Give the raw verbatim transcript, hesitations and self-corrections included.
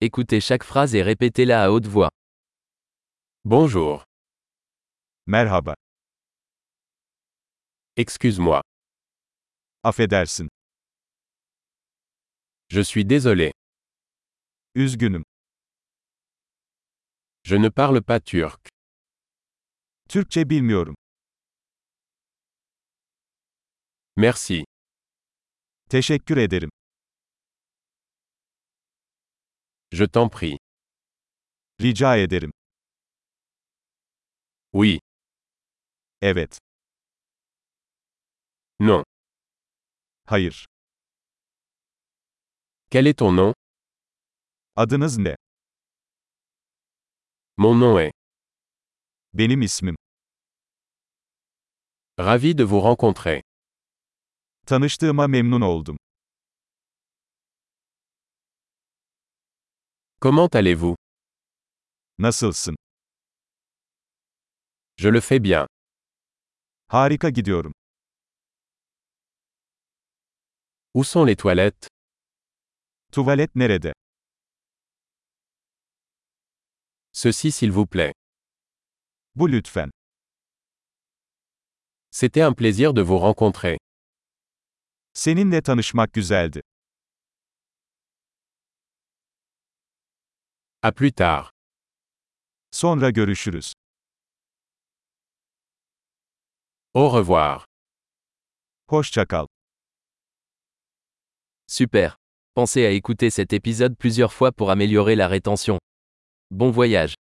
Écoutez chaque phrase et répétez-la à haute voix. Bonjour. Merhaba. Excuse-moi. Affedersin. Je suis désolé. Üzgünüm. Je ne parle pas turc. Türkçe bilmiyorum. Merci. Teşekkür ederim. Je t'en prie. Rica ederim. Oui. Evet. Non. Hayır. Quel est ton nom? Adınız ne? Mon nom est. Benim ismim. Ravi de vous rencontrer. Tanıştığıma memnun oldum. Comment allez-vous? Nasılsın? Je le fais bien. Harika gidiyorum. Où sont les toilettes? Tuvalet nerede? Ceci s'il vous plaît. Bu lütfen. C'était un plaisir de vous rencontrer. Seninle tanışmak güzeldi. À plus tard. Sonra görüşürüz. Au revoir. Hoşça kal. Super. Pensez à écouter cet épisode plusieurs fois pour améliorer la rétention. Bon voyage.